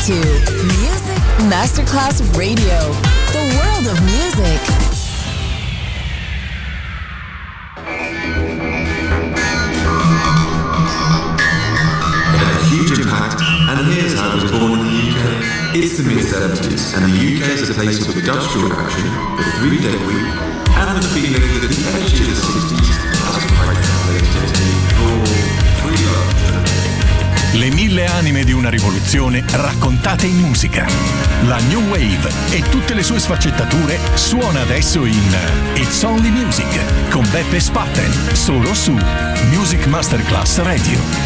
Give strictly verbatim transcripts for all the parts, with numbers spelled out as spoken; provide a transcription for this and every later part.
to Music Masterclass Radio, the world of music. Huge impact, and here's how it was born in the U K. It's the mid seventies, and the U K is a place of industrial action, the three-day week, and the feeling that the energy of the sixties has quite translated into raw, free love. Le mille anime di una rivoluzione raccontate in musica. La New Wave e tutte le sue sfaccettature suona adesso in It's Only Music con Beppe Spatten, solo su Music Masterclass Radio.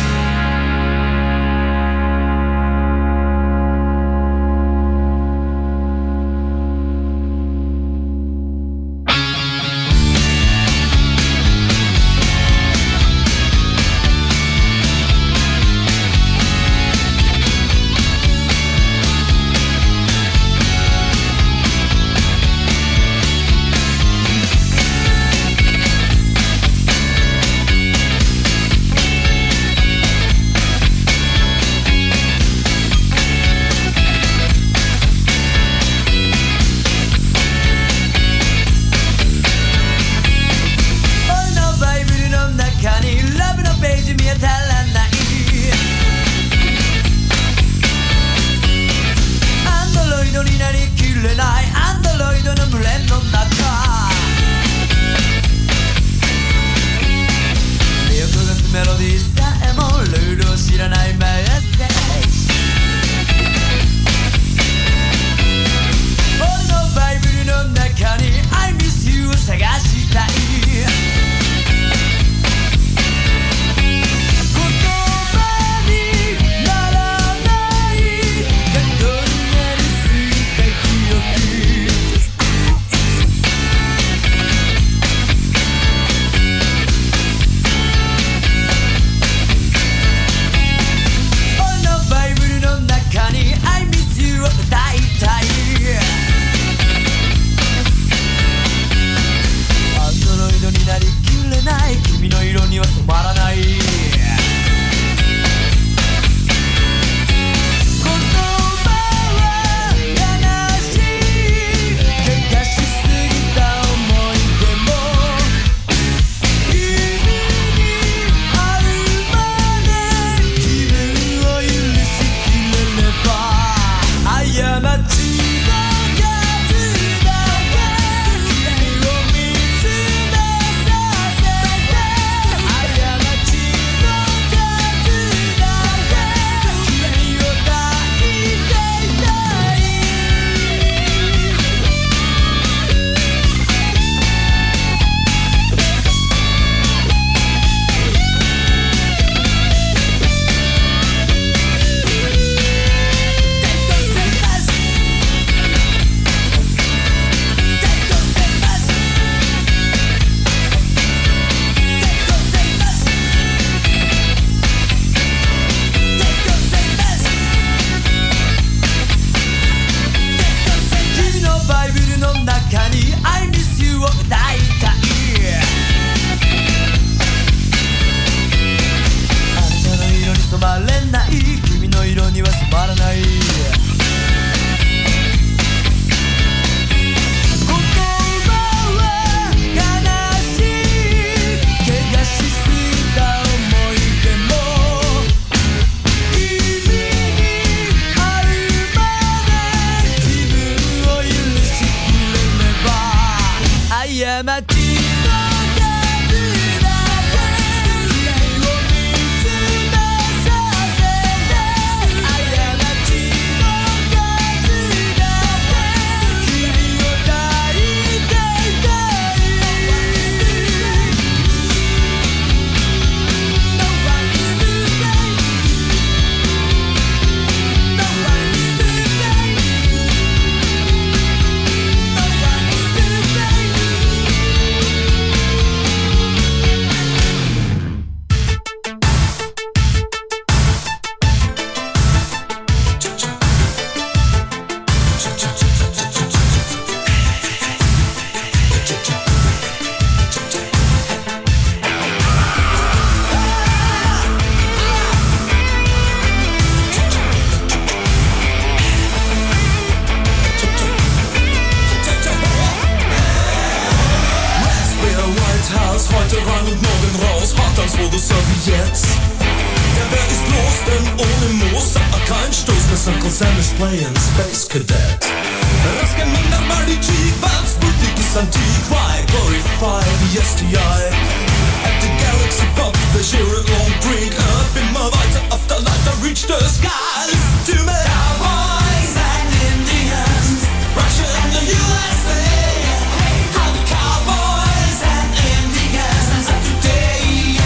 Uncle Sam is playing Space Cadet. Rascomando Mardi-G, Bats, Boutique, Antique, why glorify the S T I? At the Galaxy Pub, they share a long drink. Up in my weiter Afterlife, I reach the skies. To me, cowboys and Indians, Russia and the U S A. How the cowboys and Indians of today.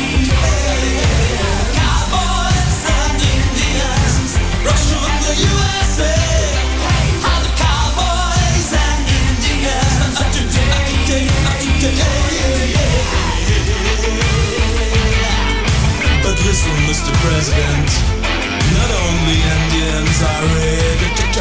Cowboys and Indians, Russia and the U S A. How the cowboys and Indians of today, of today. But listen, Mister President, not only Indians are red.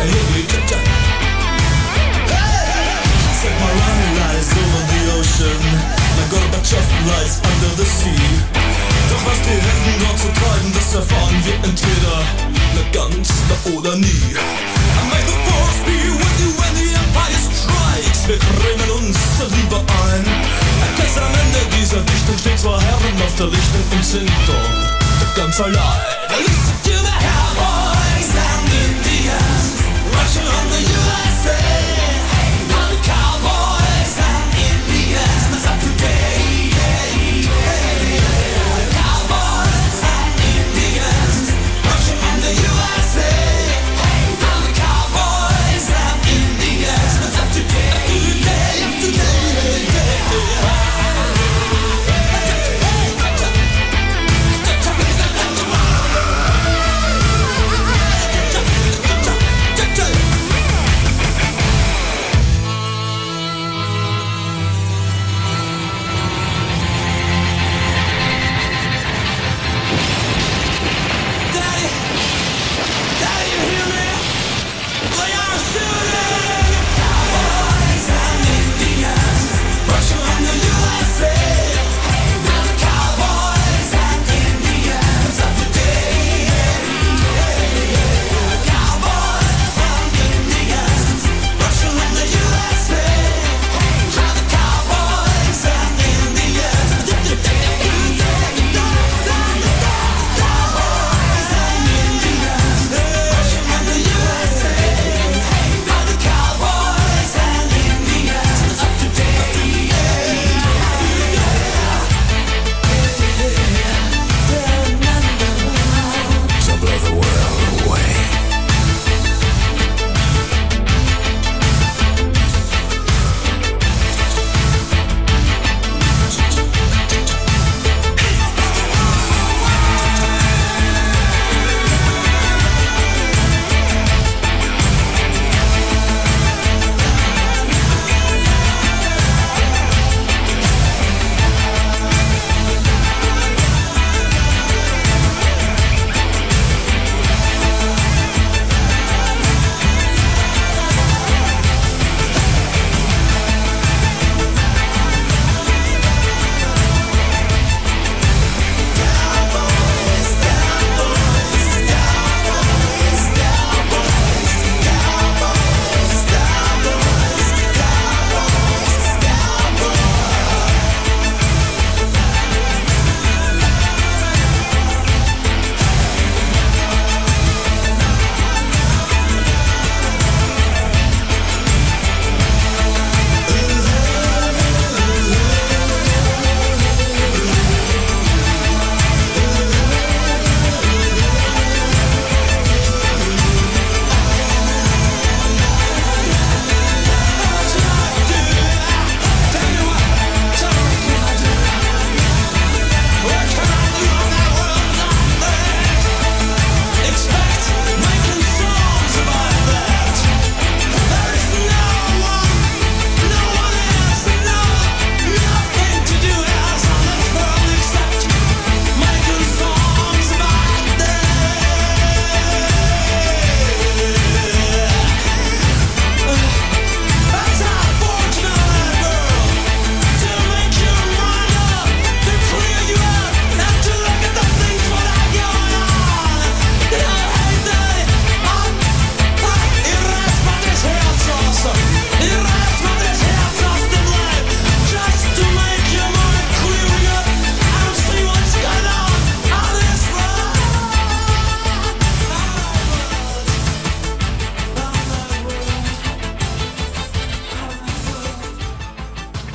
Set my running lies over the ocean, like Gorbachev lies under the sea. Doch was die Helden dort zu treiben, das erfahren wir entweder na ganz oder nie. And may the force be with you when the Empire strikes. Wir cremen uns lieber ein. Erkennst am Ende dieser Dichtung stehen zwei Herren auf der Lichtung und sind dort ganz allein. Listen to the cowboys and Indians, Russia and the U S A. Now the cowboys and Indians of today. Cowboys and Indians, Russia and the U S A. Now the cowboys and Indians of today. Of today, of today.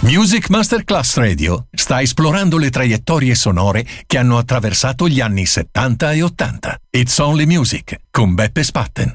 Music Masterclass Radio sta esplorando le traiettorie sonore che hanno attraversato gli anni settanta e ottanta. It's Only Music con Beppe Spatten.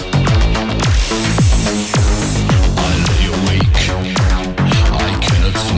I lay awake, I cannot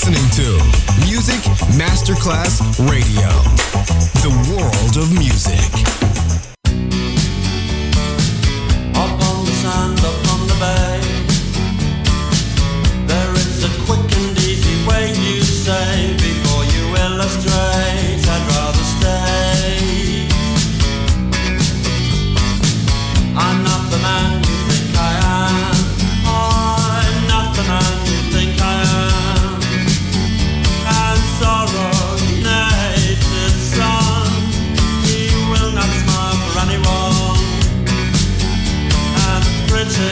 listening to Music Masterclass Radio, the world of music. Up on the sand, up on the bay, there is a quick and easy way, you say, before you illustrate, I'd rather stay. I'm not the man you think I am, I'm not the man you think I am, and sorrow, nature's son, he will not smile for anyone, and pretty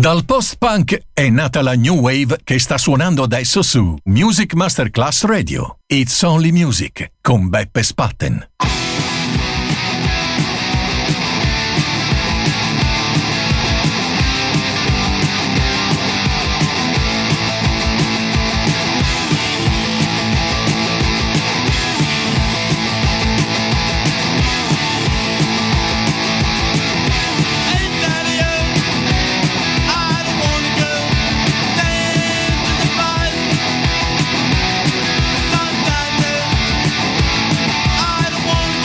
Dal post-punk è nata la new wave che sta suonando adesso su Music Masterclass Radio. It's Only Music con Beppe Spatten. I don't wanna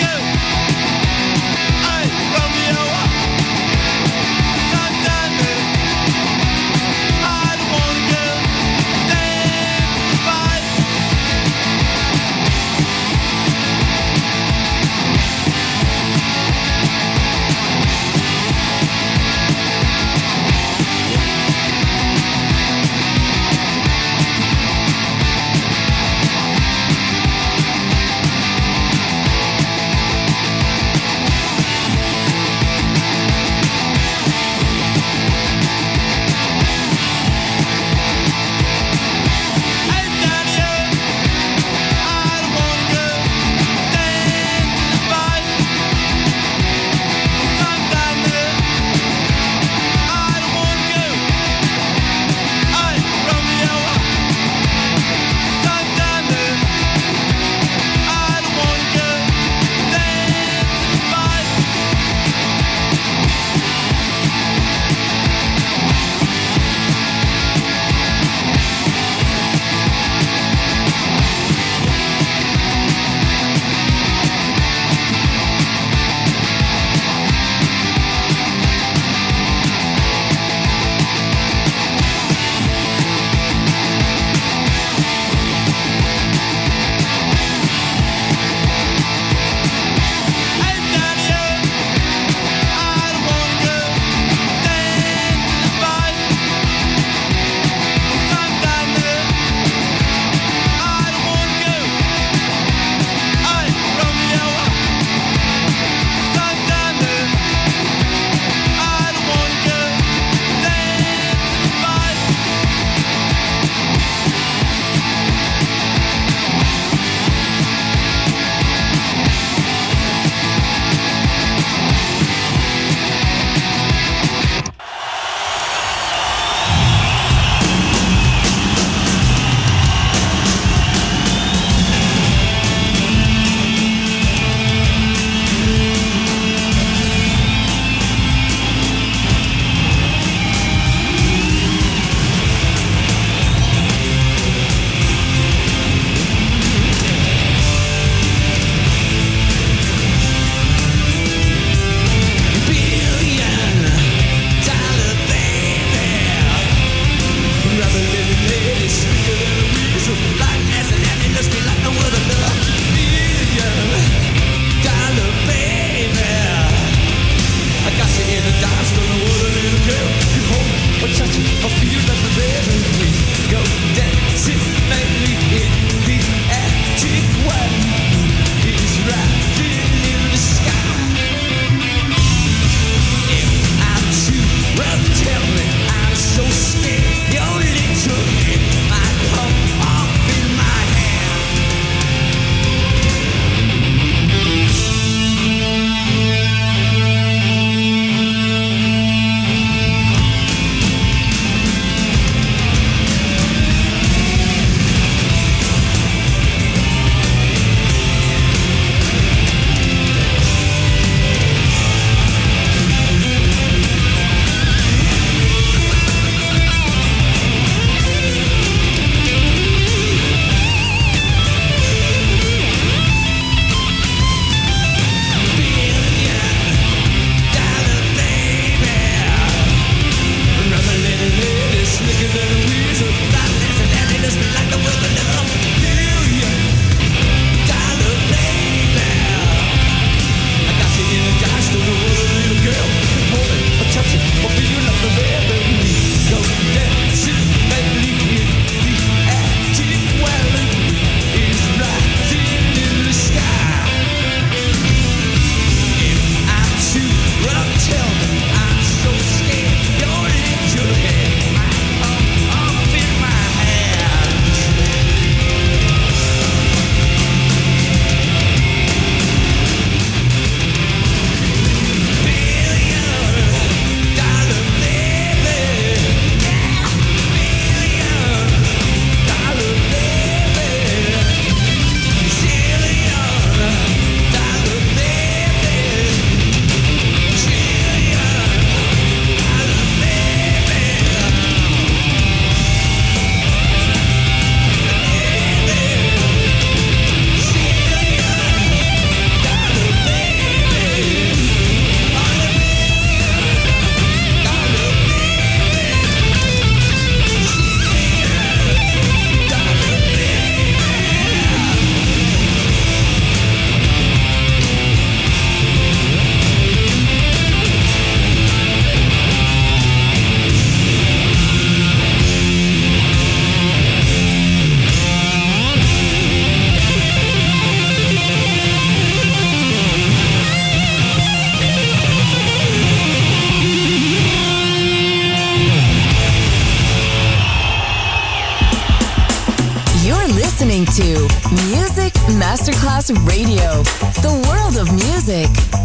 Music Masterclass Radio. The world of music.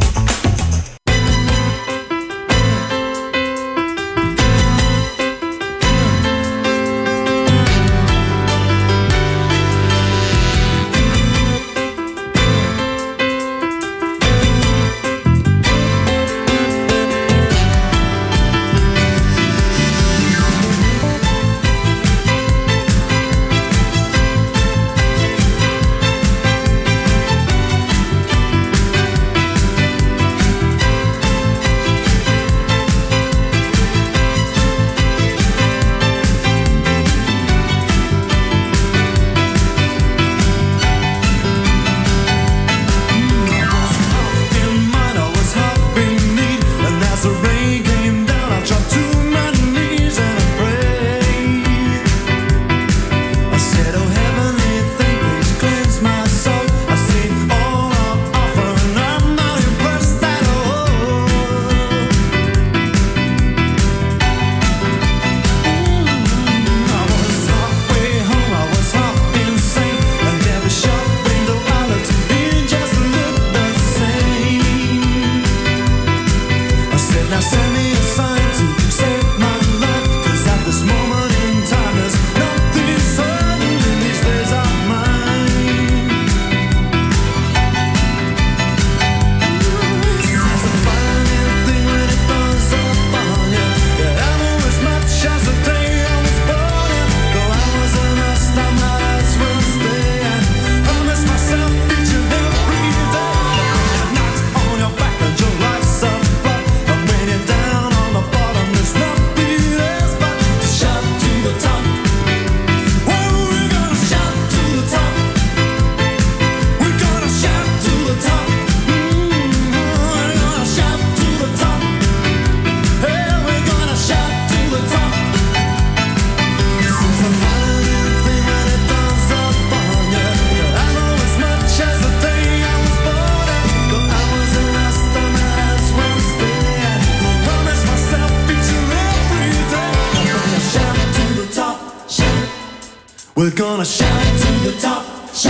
We're gonna shout to the top, shout.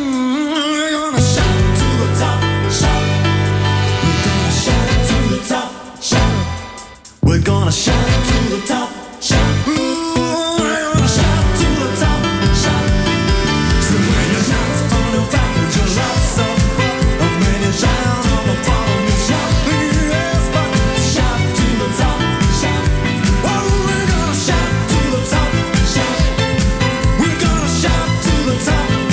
We're gonna shout to the top, shout. We're gonna shout to the top, shout. We're gonna shout to the top, shout. We're gonna shout to the top, shout. So when you shout on the top, put your lights up, and when you shout on the bottom, you shout yes, but shout to the top, shout. Oh, we're gonna shout to the top, shout. We're gonna shout to the top.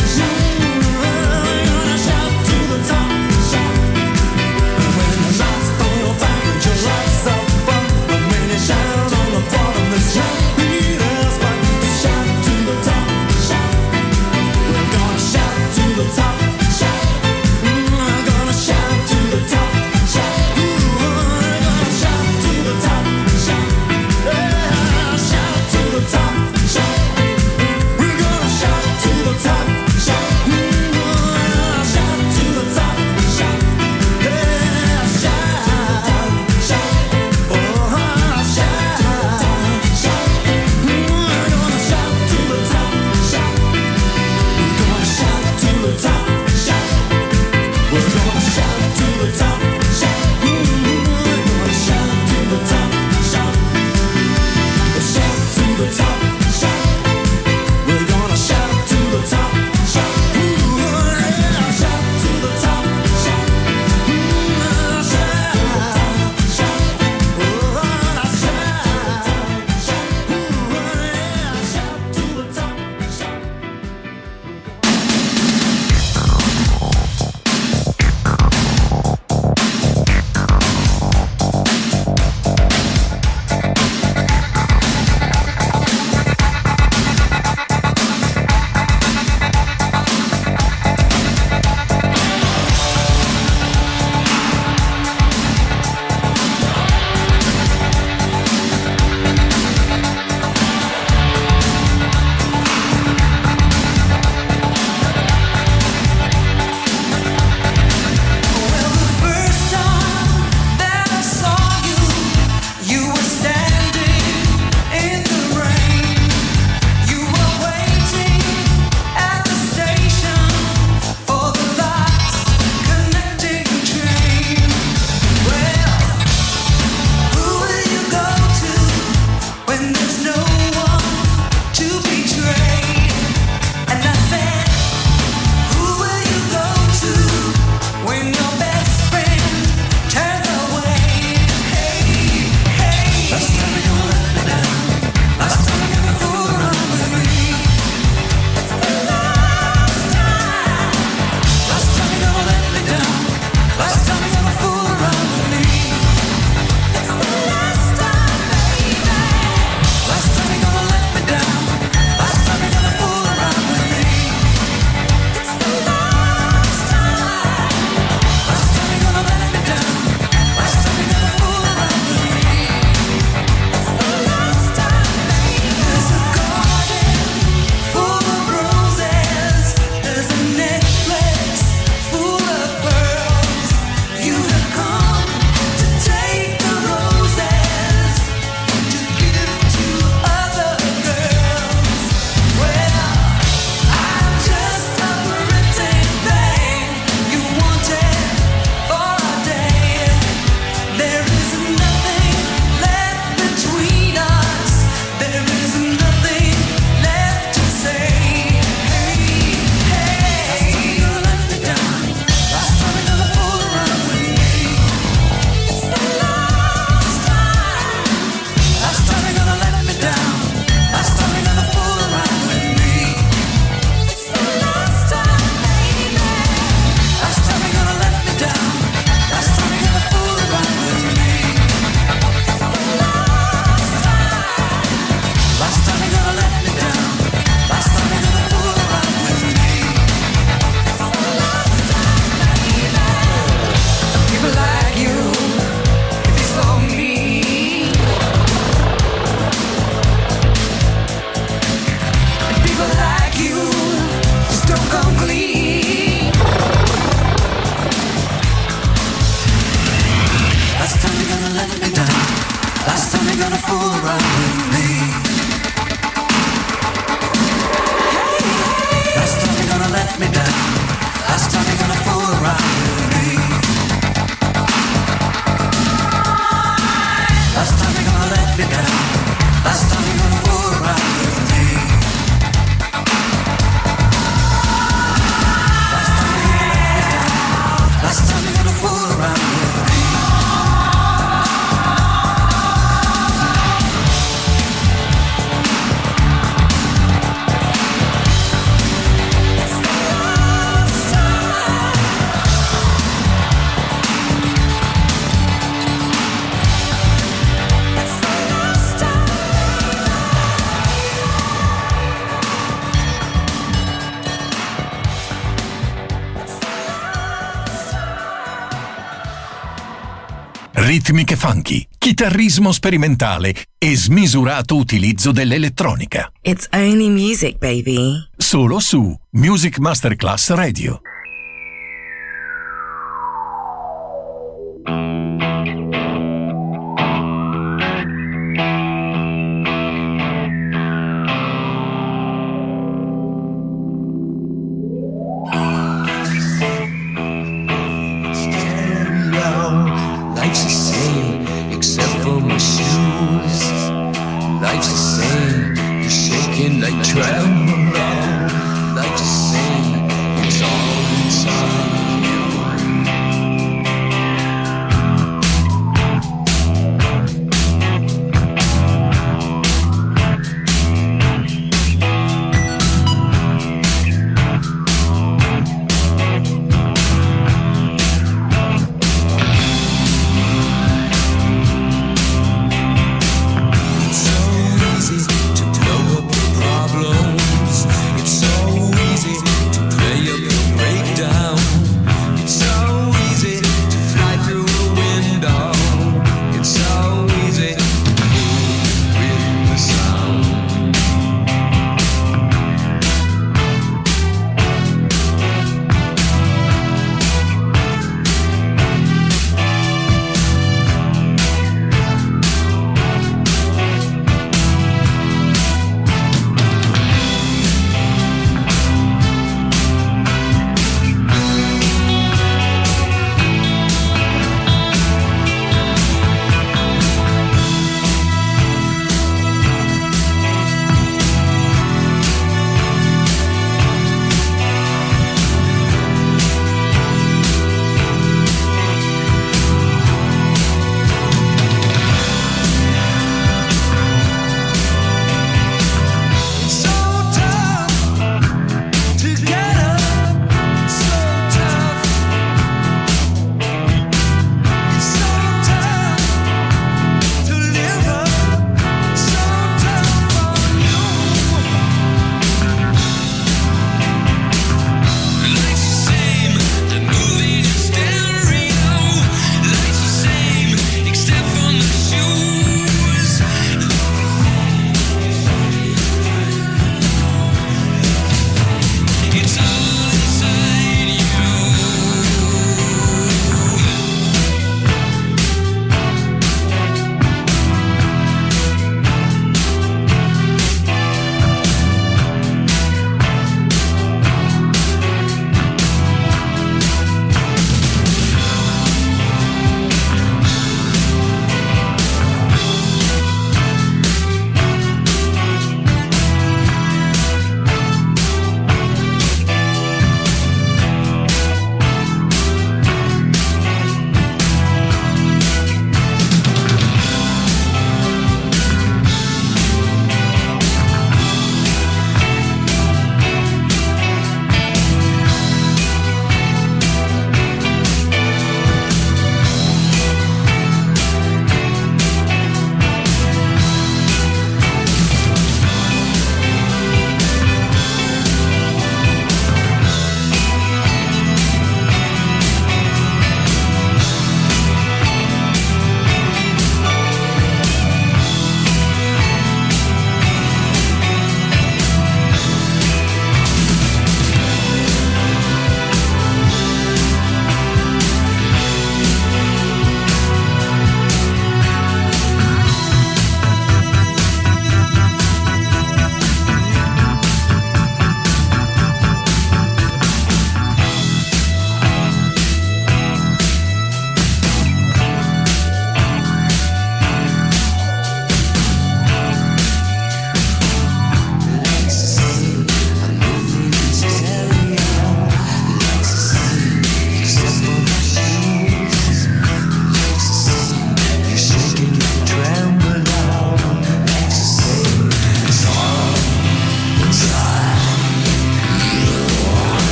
ritmiche funky, chitarrismo sperimentale e smisurato utilizzo dell'elettronica. It's only music, baby. Solo su Music Masterclass Radio. Life's the same, except for my shoes. Life's the same, you're shaking like tremolo. Life's the same, it's all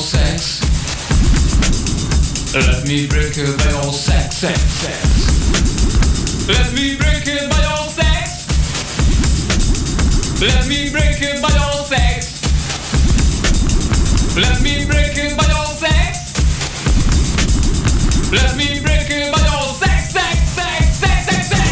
sex. Let me break it by your sex, sex, sex. Let me break it by your sex. Let me break it by your sex. Let me break it by your sex. Let me break it by your sex, sex, sex, sex, sex, sex.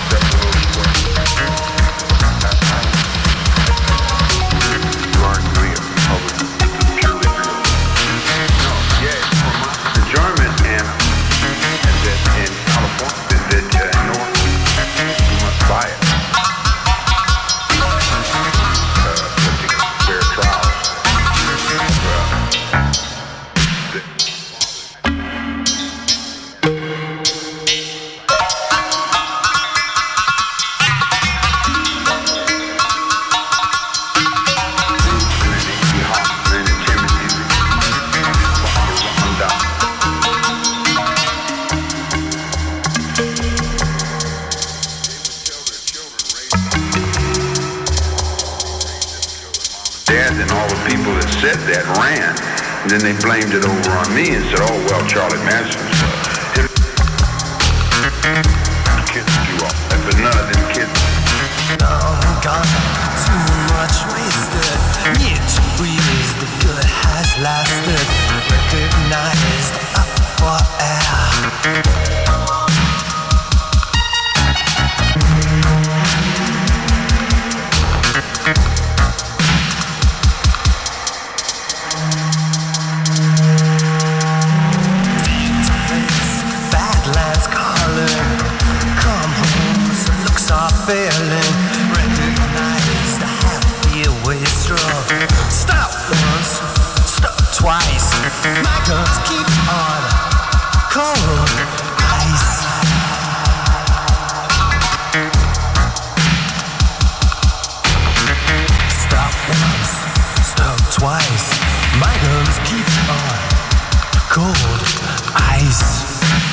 You aren't doing then all the people that said that ran. And then they blamed it over on me and said, oh, well, Charlie Manson's uh, kids do all that, but none of them kids. Oh, God, too much wasted. Need to freeze, the good has lasted. Recognized up for air. Badlands calling. Come home, some looks are failing. Recognize the happy wastrel. Stop once, stop twice. My guns keep on cold ice. Stop once, stop twice. My guns keep on cold ice.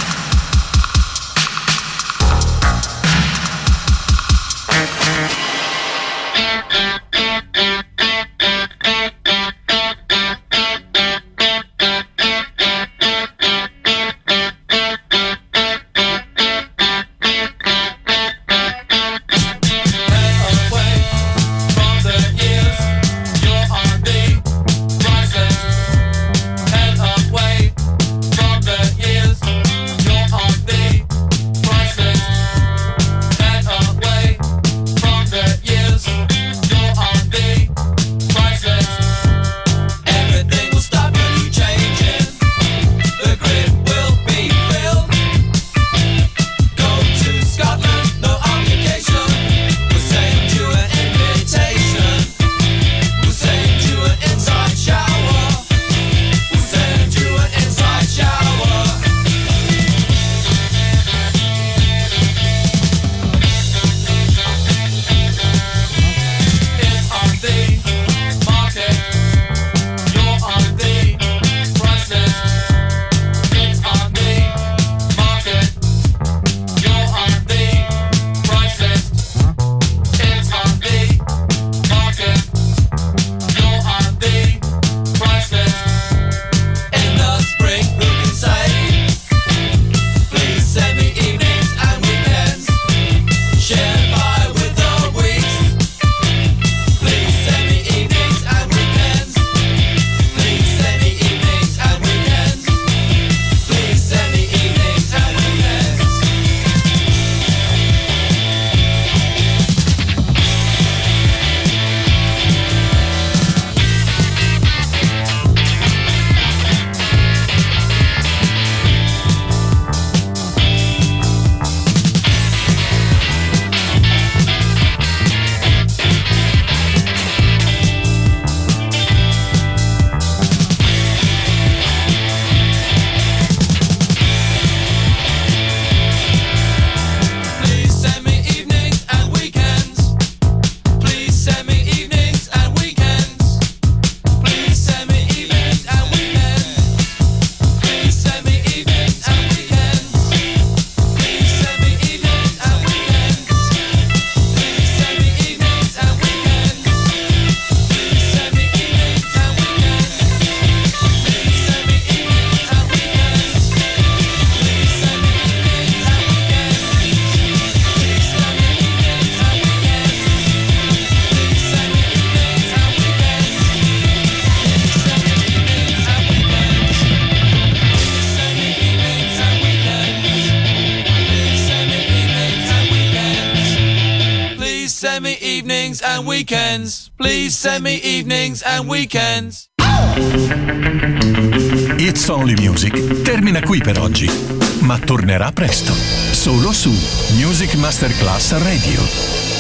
send me evenings and weekends. Please send me evenings and weekends. It's Only Music termina qui per oggi, ma tornerà presto, solo su Music Masterclass Radio.